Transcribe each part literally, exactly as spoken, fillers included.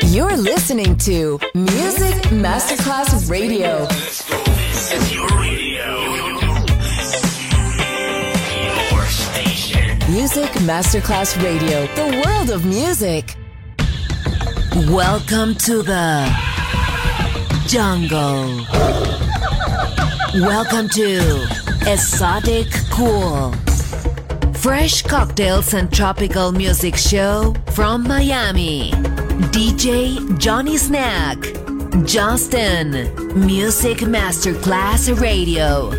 You're listening to Music Masterclass Radio. This is your radio. Your station. Music Masterclass Radio. The world of music. Welcome to the jungle. Welcome to Exotic Cool. Fresh cocktails and tropical music show from Miami. D J Johnny Snack. Justin. Music Masterclass Radio.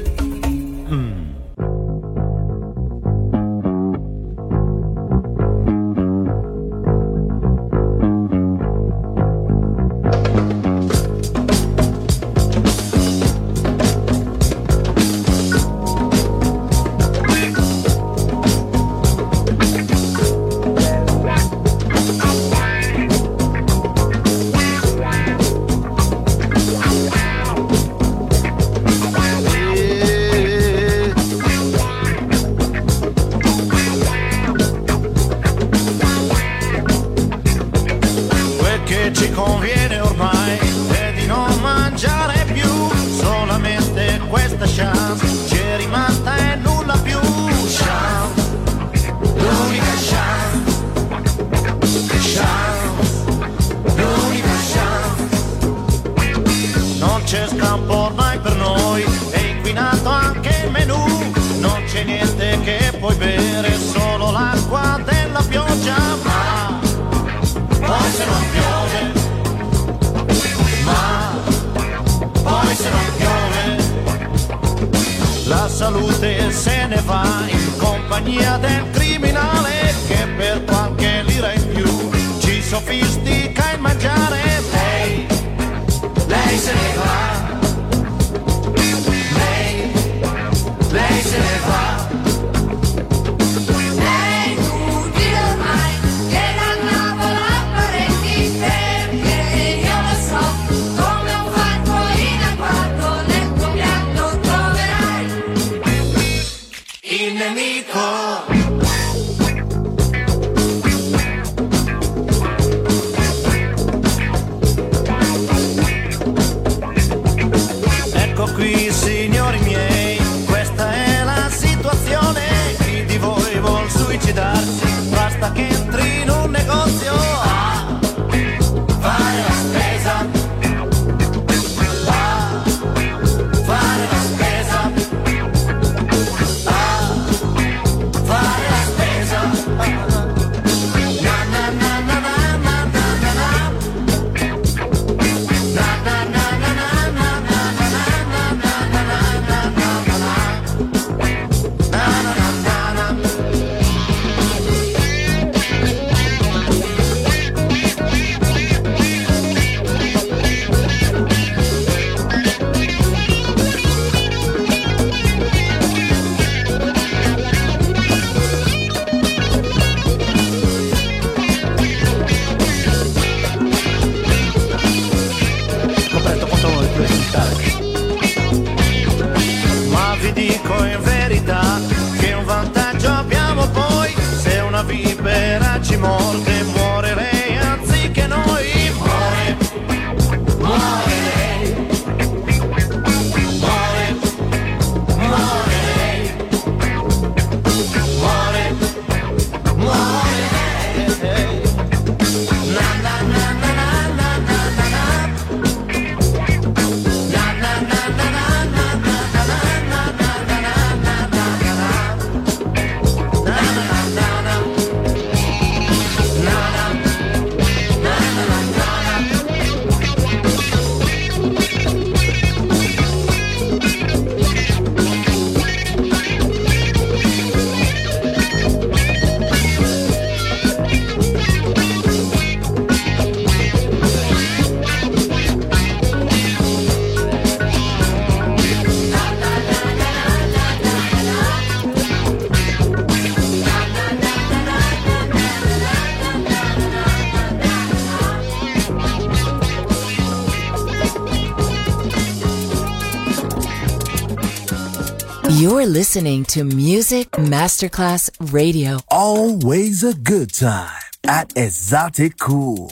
You're listening to Music Masterclass Radio. Always a good time at Exotic Cool.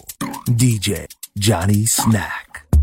D J Johnny Snack.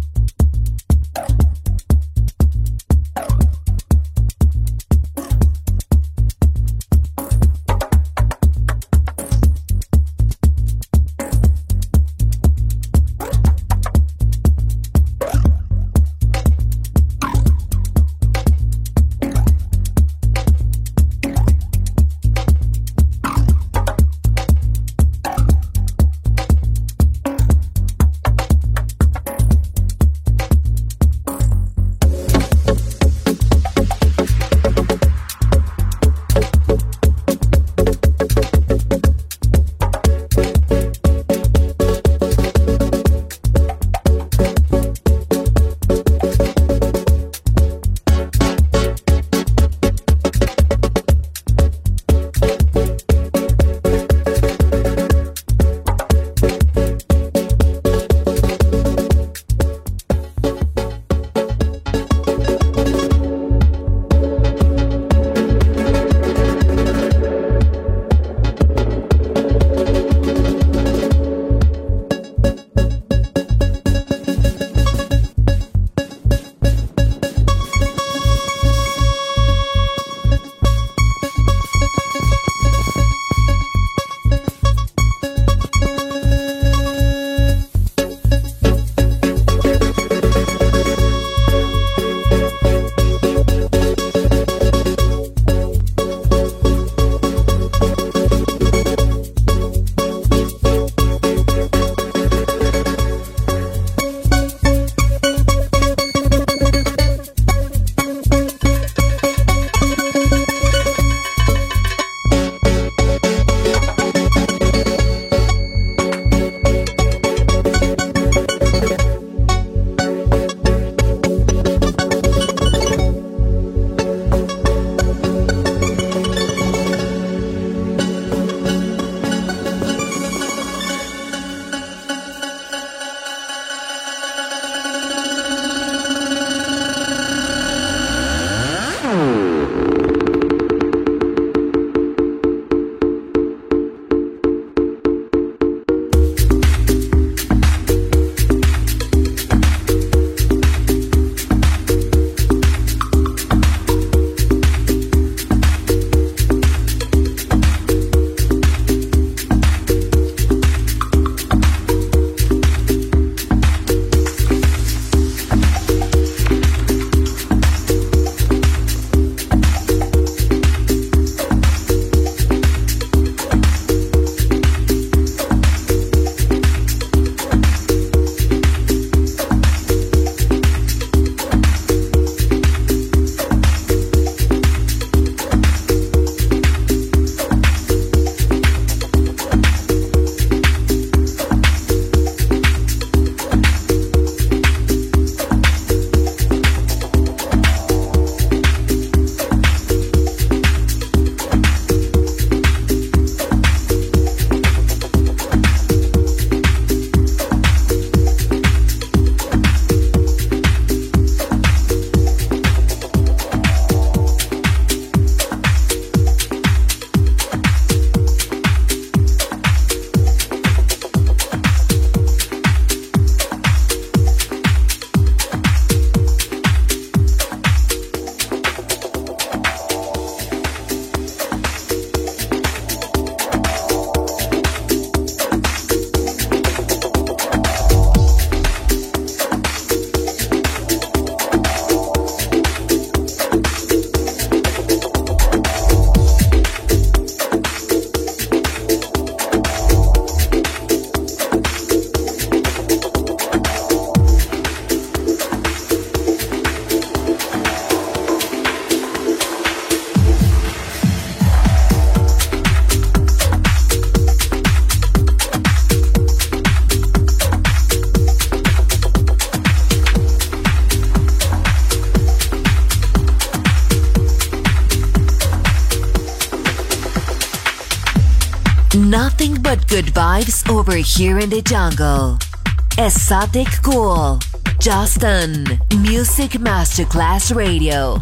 Nothing but good vibes over here in the jungle. Exotic Cool. Justin. Music Masterclass Radio.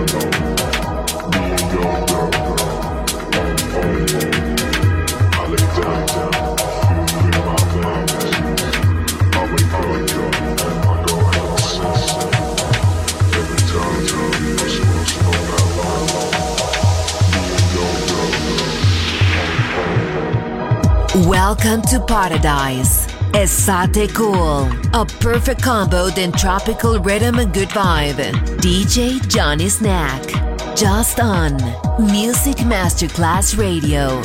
Welcome to Paradise. Estate Cool. A perfect combo in tropical rhythm and good vibe. D J Johnny Snack. Just on Music Masterclass Radio.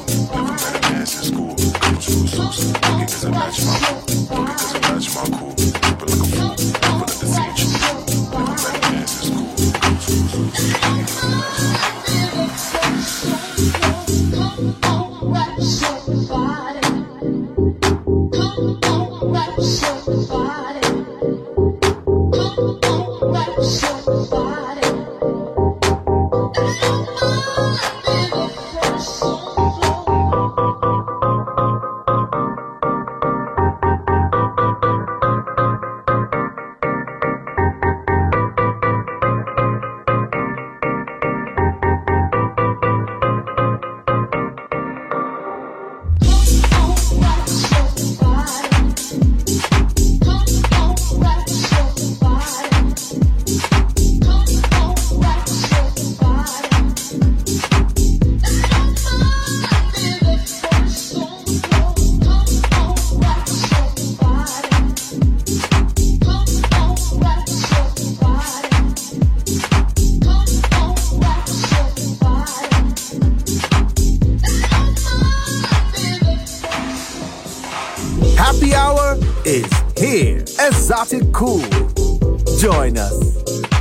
Match my cool. Is here. Exotic Cool. Join us.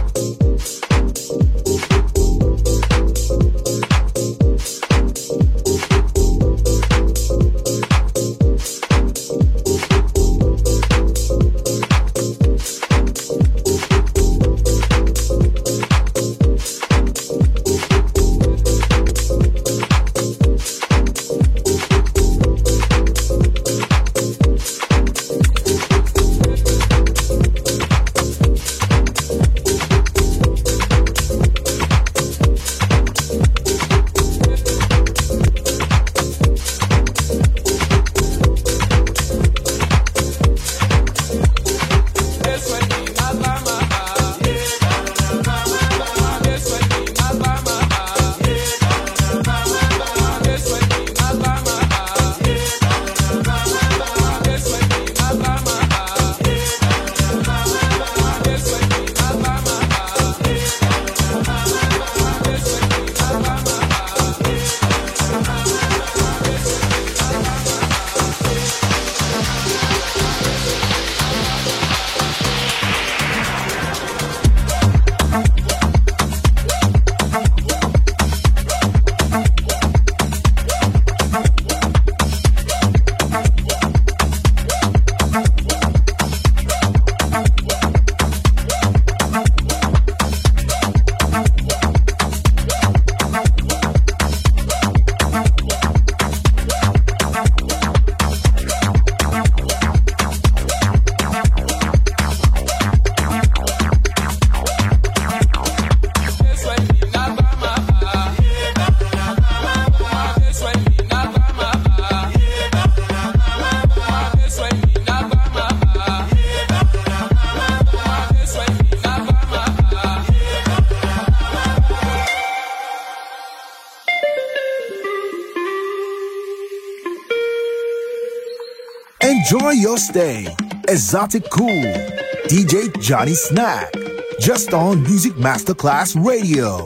Enjoy your stay. Exotic Cool. D J Johnny Snack. Just on Music Masterclass Radio.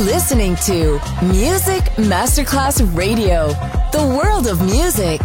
listening to Music Masterclass Radio, the world of music.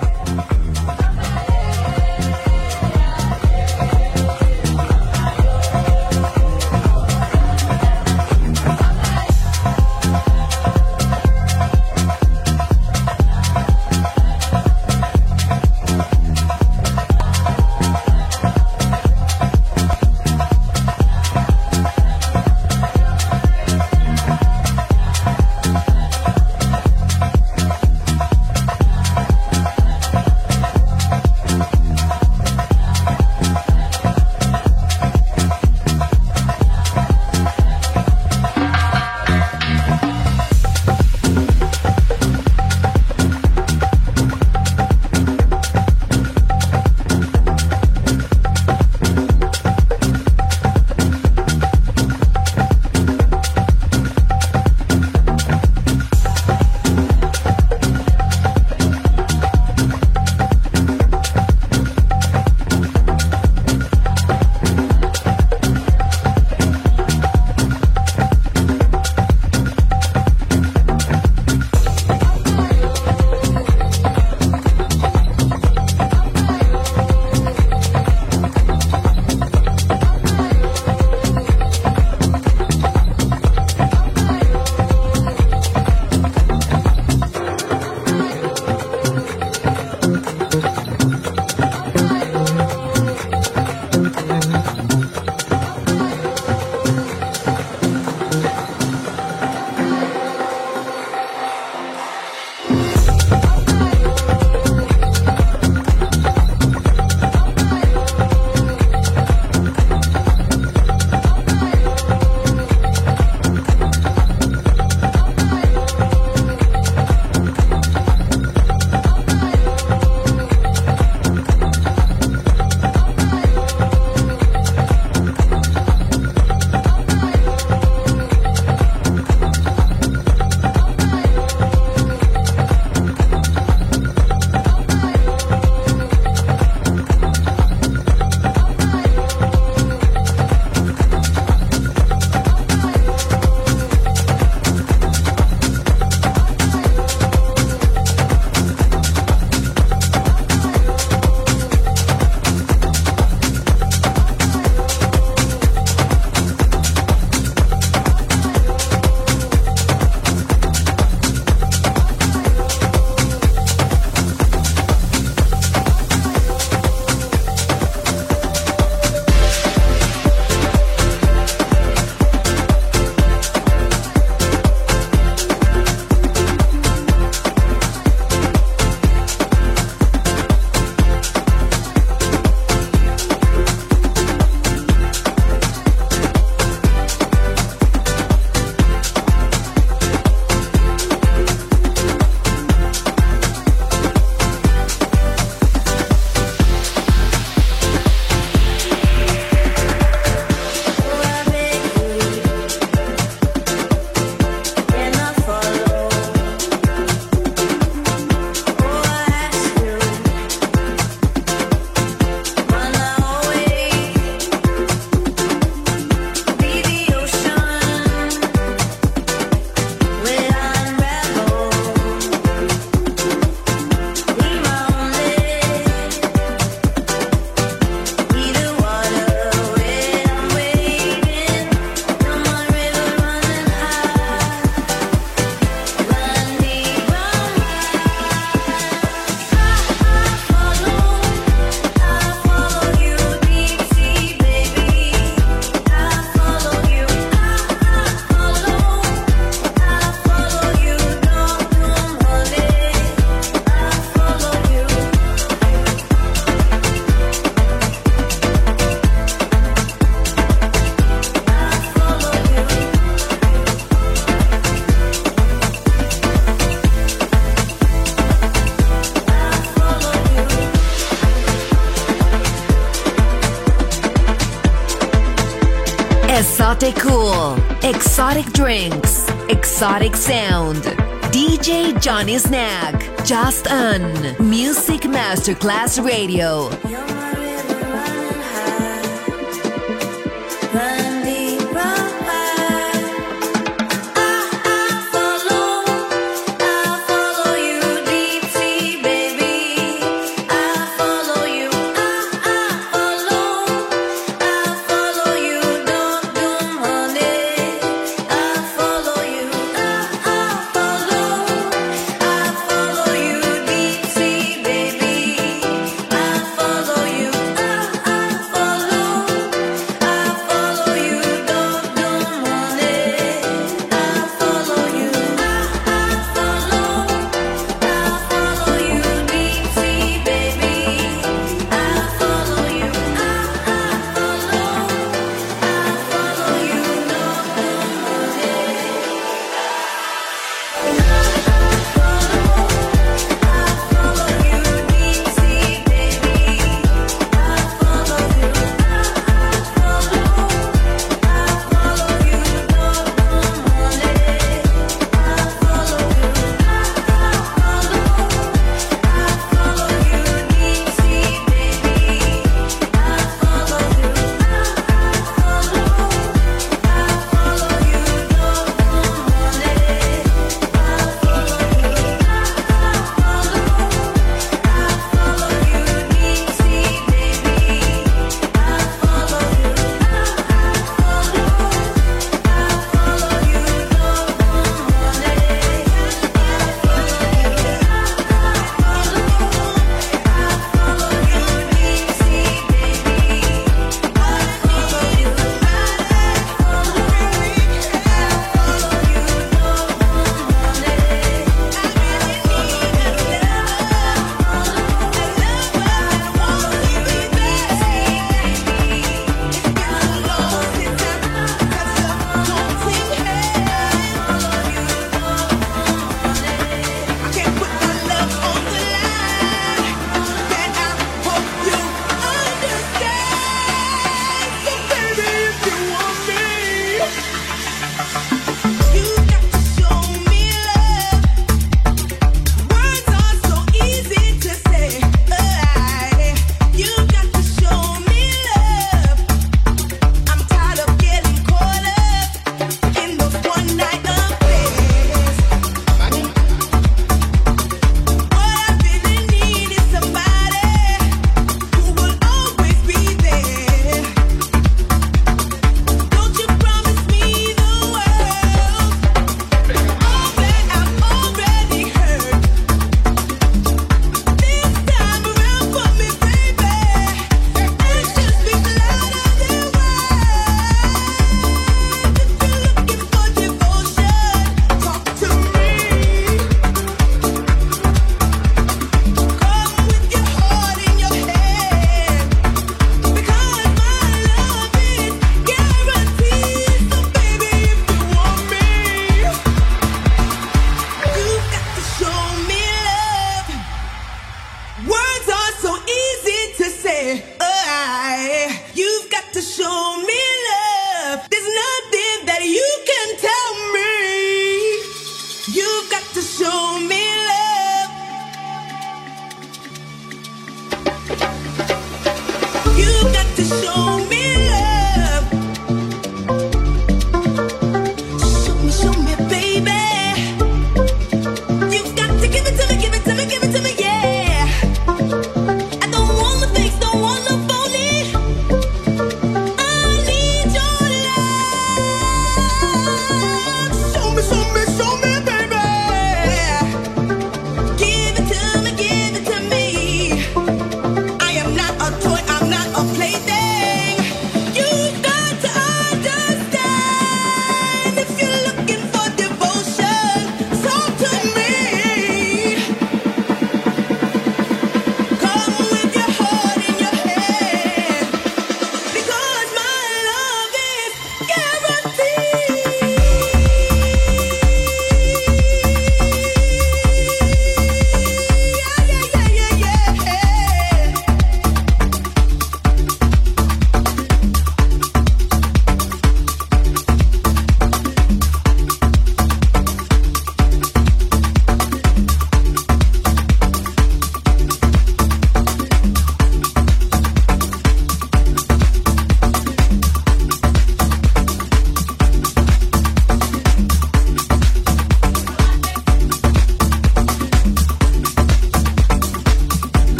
Exotic Cool, exotic drinks, exotic sound. D J Johnny Snack, just on Music Masterclass Radio. Run deep, run wide.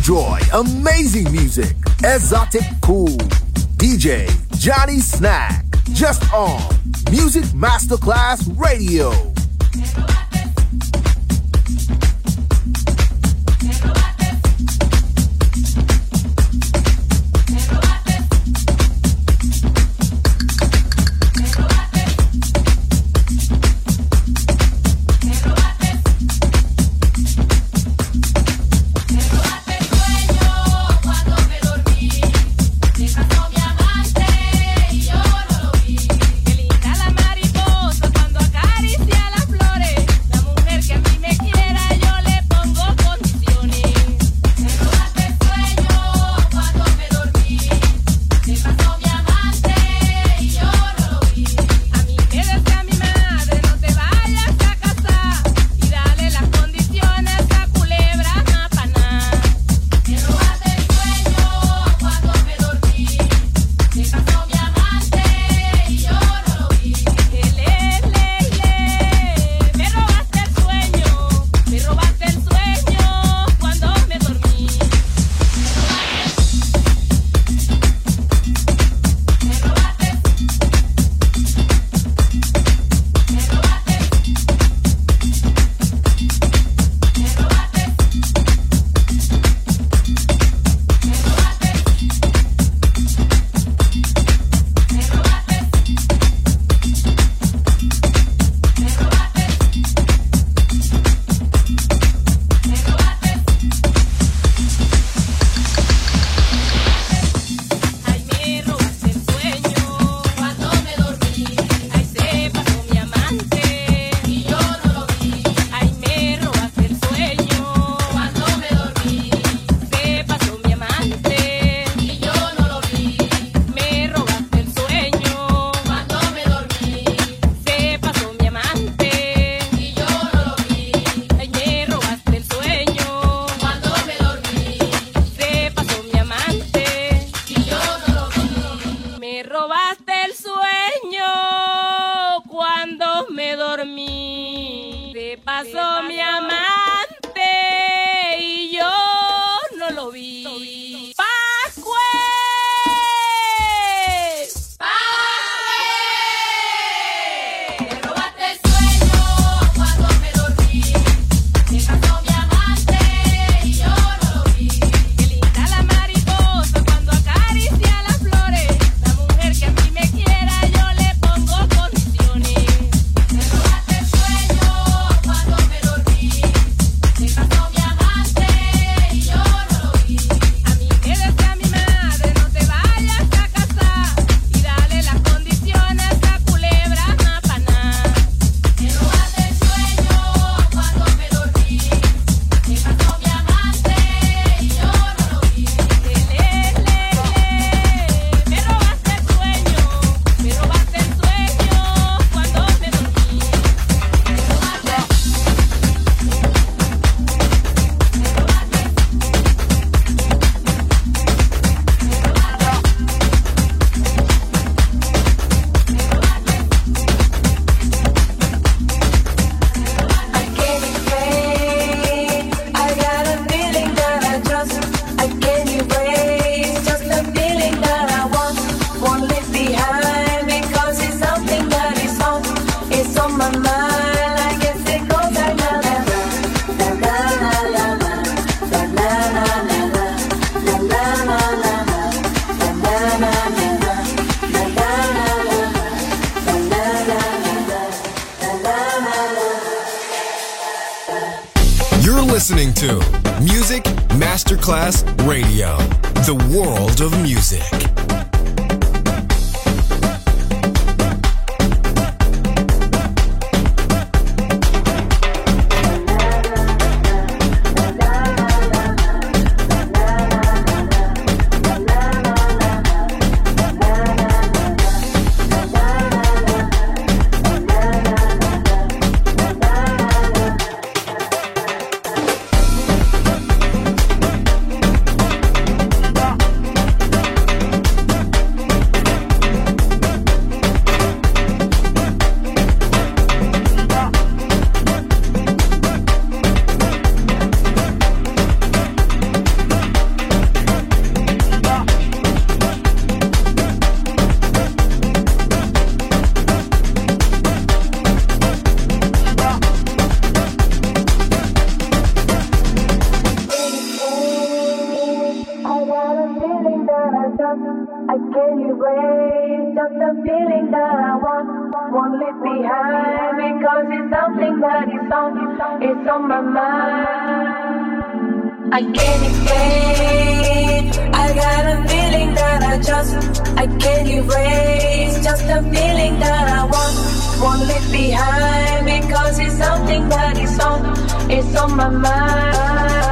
enjoy amazing music. Exotic Cool. D J Johnny Snack. Just on Music Masterclass Radio. Listening to Music Masterclass Radio, the world of music. Can you wait? Just the feeling that I want. Won't leave behind because it's something that is on, it's on my mind. I can't explain. I got a feeling that I just I can't erase. Just the feeling that I want. Won't leave behind because it's something that is on, it's on my mind.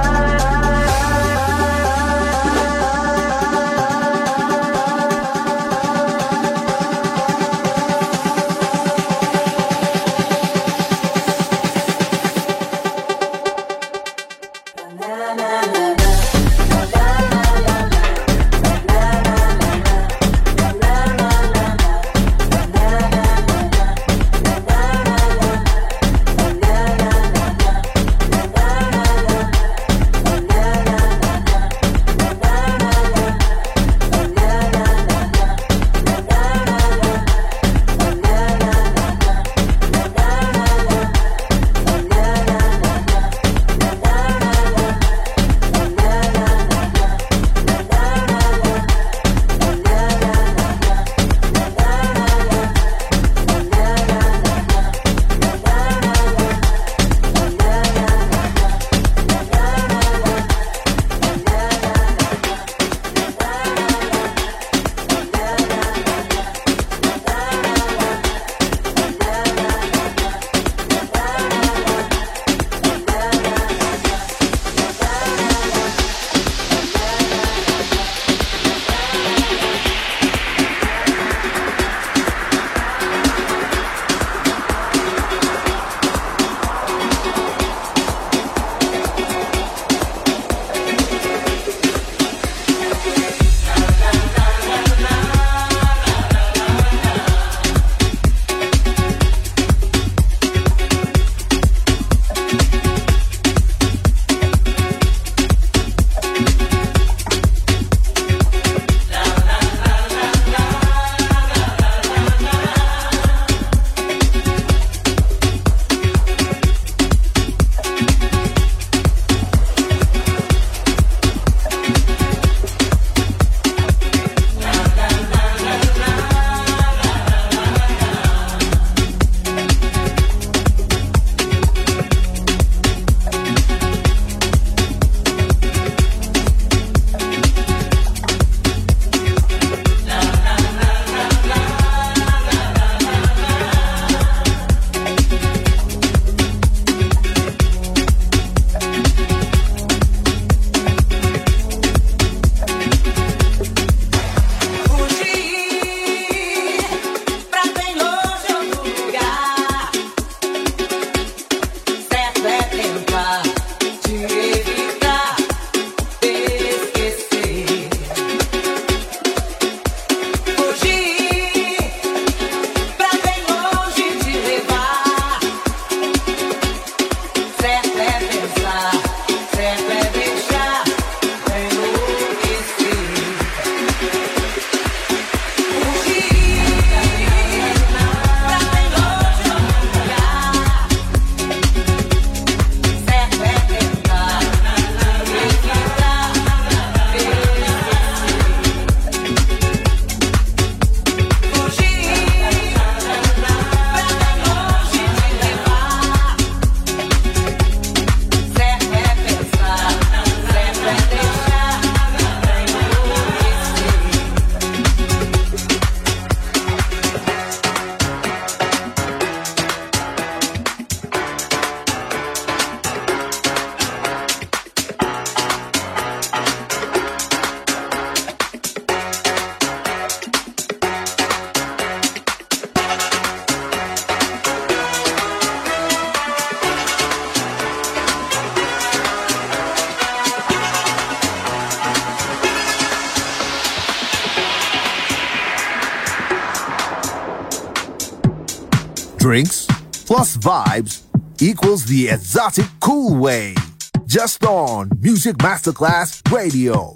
Drinks plus vibes equals the exotic cool way. Just on Music Masterclass Radio.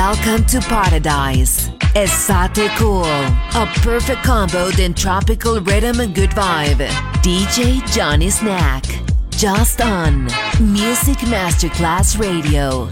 Welcome to Paradise. Estate Cool, a perfect combo in tropical rhythm and good vibe. D J Johnny Snack, just on Music Masterclass Radio.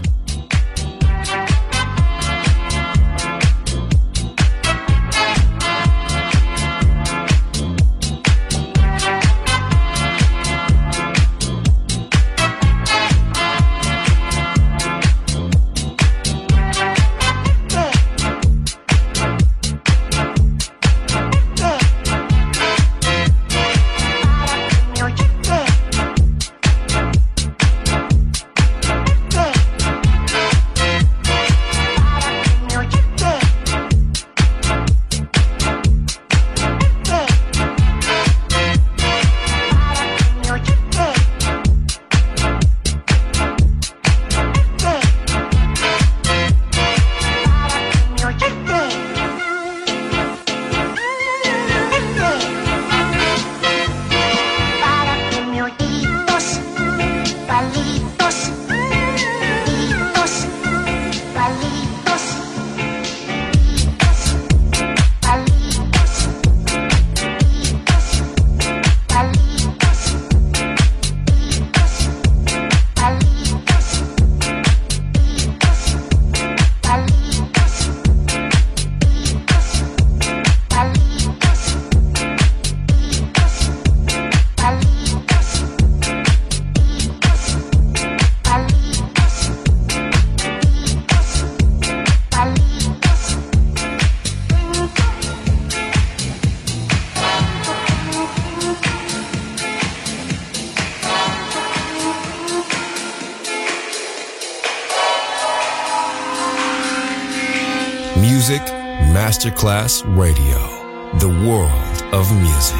Music Masterclass Radio, the world of music.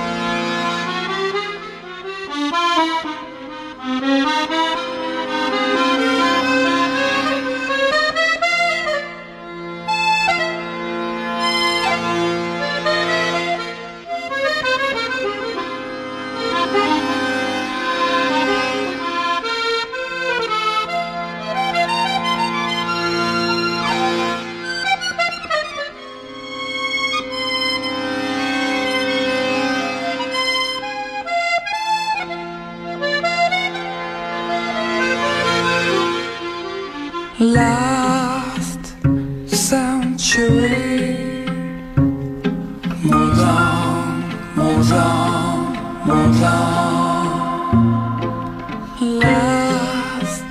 Last century, moved on, moved on, moved on. Last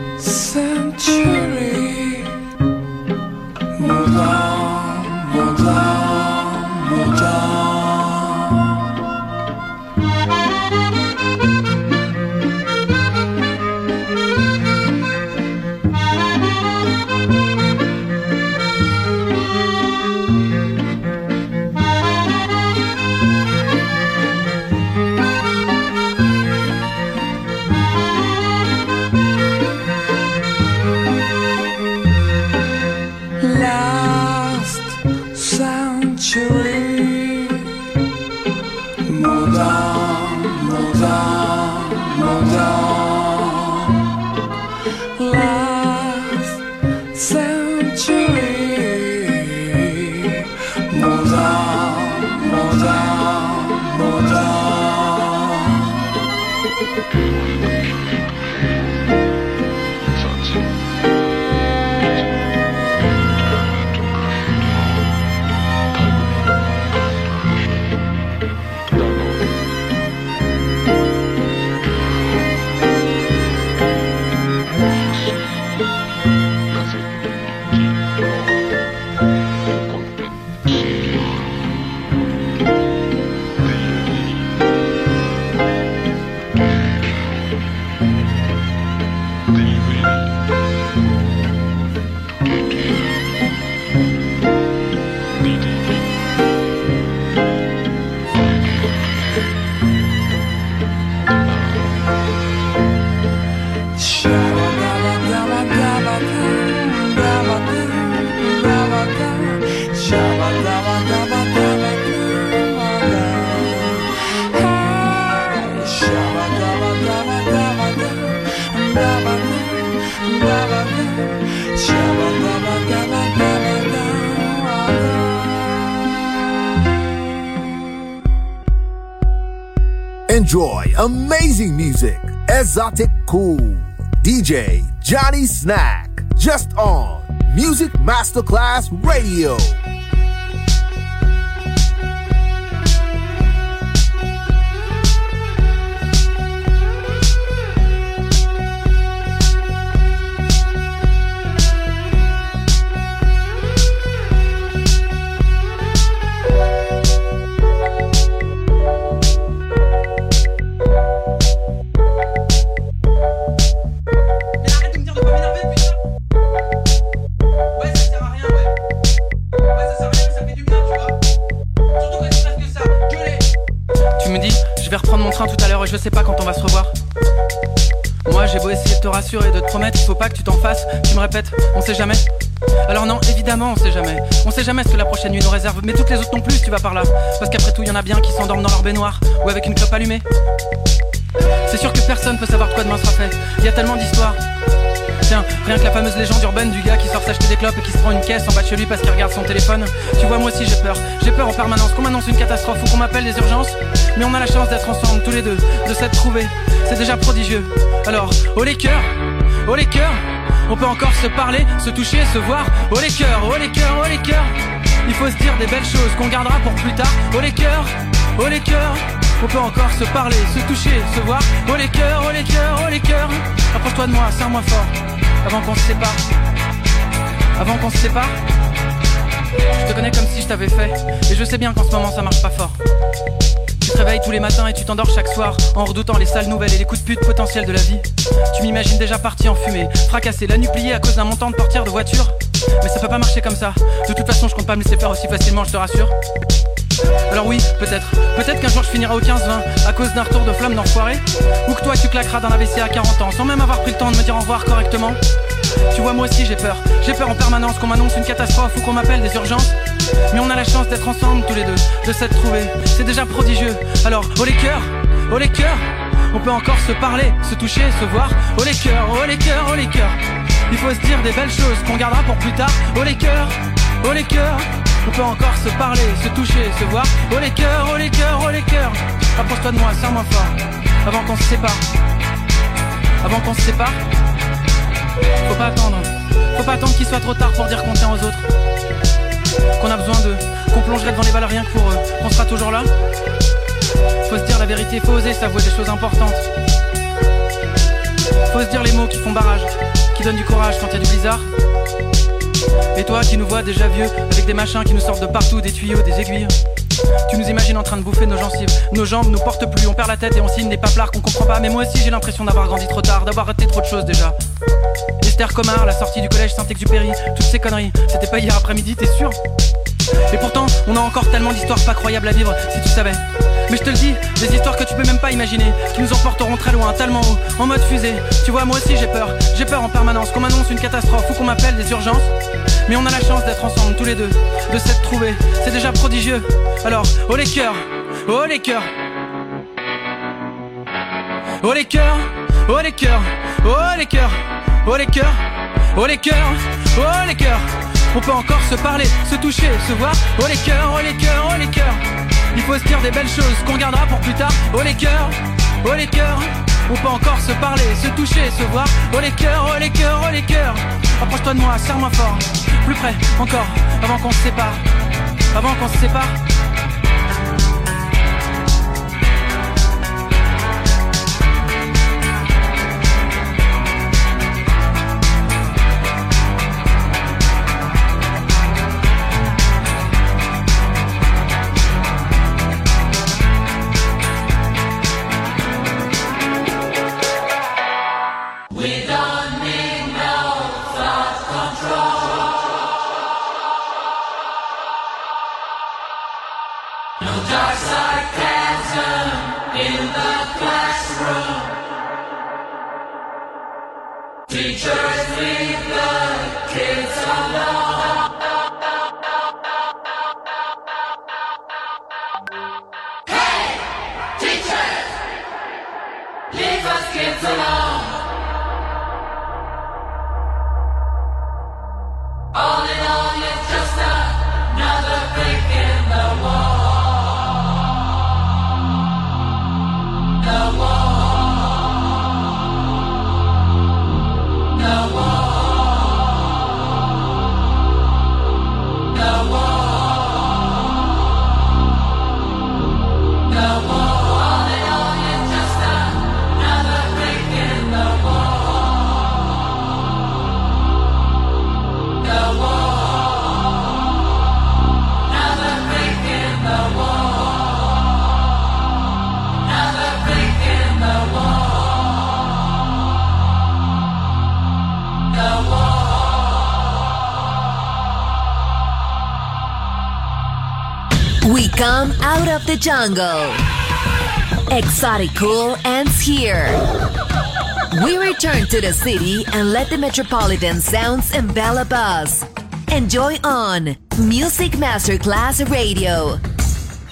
century, moved on, moved on, moved on. Enjoy amazing music. Exotic Cool. D J Johnny Snack. Just on Music Masterclass Radio. Tout à l'heure et je sais pas quand on va se revoir. Moi j'ai beau essayer de te rassurer, de te promettre, il faut pas que tu t'en fasses. Tu me répètes, on sait jamais. Alors non, évidemment on sait jamais. On sait jamais ce que la prochaine nuit nous réserve. Mais toutes les autres non plus si tu vas par là. Parce qu'après tout y en a bien qui s'endorment dans leur baignoire ou avec une clope allumée. C'est sûr que personne peut savoir de quoi demain sera fait. Il y a tellement d'histoires. Tiens, rien que la fameuse légende urbaine du gars qui sort s'acheter des clopes et qui se prend une caisse en bas de chez lui parce qu'il regarde son téléphone. Tu vois, moi aussi j'ai peur, j'ai peur en permanence qu'on m'annonce une catastrophe ou qu'on m'appelle des urgences. Mais on a la chance d'être ensemble tous les deux, de s'être trouvés, c'est déjà prodigieux. Alors, oh les cœurs, oh les cœurs, on peut encore se parler, se toucher, se voir. Oh les cœurs, oh les cœurs, oh les cœurs, il faut se dire des belles choses qu'on gardera pour plus tard. Oh les cœurs, oh les cœurs, on peut encore se parler, se toucher, se voir. Oh les cœurs, oh les cœurs, oh les cœurs, approche-toi de moi, serre-moi fort, avant qu'on se sépare. Avant qu'on se sépare, je te connais comme si je t'avais fait. Et je sais bien qu'en ce moment ça marche pas fort. Tu te réveilles tous les matins et tu t'endors chaque soir en redoutant les sales nouvelles et les coups de pute potentiels de la vie. Tu m'imagines déjà parti en fumée, fracassé, la nuit pliée à cause d'un montant de portière de voiture. Mais ça peut pas marcher comme ça. De toute façon je compte pas me laisser faire aussi facilement, je te rassure. Alors oui, peut-être, peut-être qu'un jour je finirai au quinze vingt à cause d'un retour de flamme d'enfoiré. Ou que toi tu claqueras dans l'A V C à quarante ans sans même avoir pris le temps de me dire au revoir correctement. Tu vois, moi aussi j'ai peur, j'ai peur en permanence qu'on m'annonce une catastrophe ou qu'on m'appelle des urgences. Mais on a la chance d'être ensemble tous les deux, de s'être trouvés, c'est déjà prodigieux. Alors, oh les cœurs, oh les cœurs, on peut encore se parler, se toucher, se voir. Oh les cœurs, oh les cœurs, oh les cœurs, il faut se dire des belles choses qu'on gardera pour plus tard. Oh les cœurs, oh les cœurs, on peut encore se parler, se toucher, se voir. Oh les cœurs, oh les cœurs, oh les cœurs, approche-toi de moi, serre-moi fort, avant qu'on se sépare. Avant qu'on se sépare, faut pas attendre, faut pas attendre qu'il soit trop tard pour dire qu'on tient aux autres, qu'on a besoin d'eux, qu'on plongerait devant les balles rien que pour eux, qu'on sera toujours là. Faut se dire la vérité, faut oser s'avouer des choses importantes. Faut se dire les mots qui font barrage, qui donnent du courage quand y a du blizzard. Et toi qui nous vois déjà vieux, avec des machins qui nous sortent de partout, des tuyaux, des aiguilles. Tu nous imagines en train de bouffer nos gencives. Nos jambes nous portent plus, on perd la tête et on signe des paplards qu'on comprend pas. Mais moi aussi j'ai l'impression d'avoir grandi trop tard, d'avoir raté trop de choses déjà. Esther Comard, la sortie du collège Saint-Exupéry, toutes ces conneries, c'était pas hier après-midi, t'es sûr? Et pourtant, on a encore tellement d'histoires pas croyables à vivre, si tu savais. Mais je te le dis, des histoires que tu peux même pas imaginer, qui nous emporteront très loin, tellement haut, en mode fusée. Tu vois, moi aussi j'ai peur, j'ai peur en permanence qu'on m'annonce une catastrophe ou qu'on m'appelle des urgences. Mais on a la chance d'être ensemble tous les deux, de s'être trouvés, c'est déjà prodigieux. Alors, oh les cœurs, oh les cœurs, oh les cœurs, oh les cœurs, oh les cœurs, oh les cœurs, oh les cœurs, oh les cœurs. On peut encore se parler, se toucher, se voir. Oh les cœurs, oh les cœurs, oh les cœurs. Il faut se dire des belles choses qu'on gardera pour plus tard. Oh les cœurs, oh les cœurs. On peut encore se parler, se toucher, se voir. Oh les cœurs, oh les cœurs, oh les cœurs. Approche-toi de moi, serre-moi fort. Plus près, encore, avant qu'on se sépare. Avant qu'on se sépare. We come out of the jungle. Exotic Cool ends here. We return to the city and let the metropolitan sounds envelop us. Enjoy on Music Masterclass Radio.